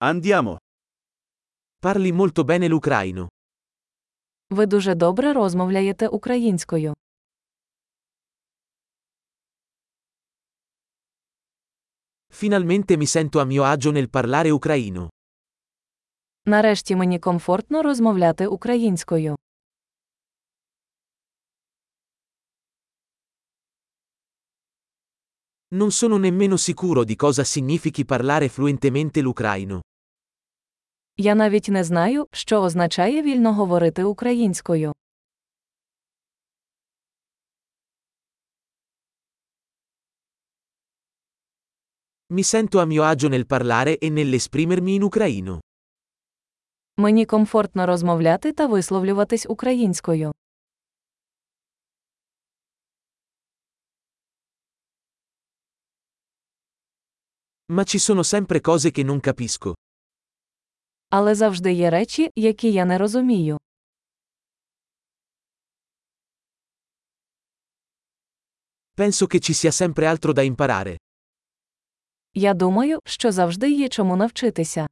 Andiamo. Parli molto bene l'ucraino. Ви дуже добре розмовляєте українською. Finalmente mi sento a mio agio nel parlare ucraino. Нарешті мені комфортно розмовляти українською. Non sono nemmeno sicuro di cosa significhi parlare fluentemente l'ucraino. Я навіть не знаю, що означає вільно говорити українською. Mi sento a mio agio nel parlare e nell'esprimermi in ucraino. Мені комфортно розмовляти та висловлюватись українською. Ma ci sono sempre cose che non capisco. Але завжди є речі, які я не розумію. Penso che ci sia sempre altro da imparare. Я думаю, що завжди є чому навчитися.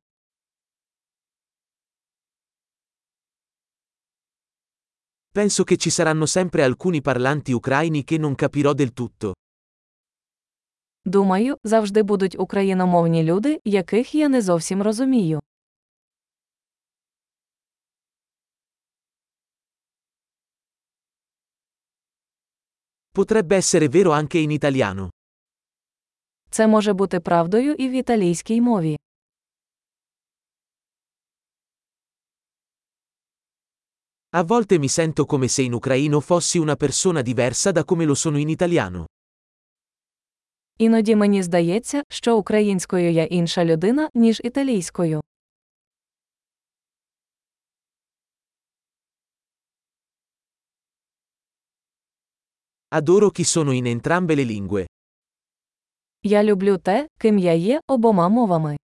Penso che ci saranno sempre alcuni parlanti ucraini che non capirò del tutto. Думаю, завжди будуть україномовні люди, яких я не зовсім розумію. Potrebbe essere vero anche in italiano. Це може бути правдою і в італійській мові. A volte mi sento come se in ucraino fossi una persona diversa da come lo sono in italiano. Іноді мені здається, що українською я інша людина, ніж італійською. Adoro chi sono in entrambe le lingue. Я люблю те, ким я є обома мовами.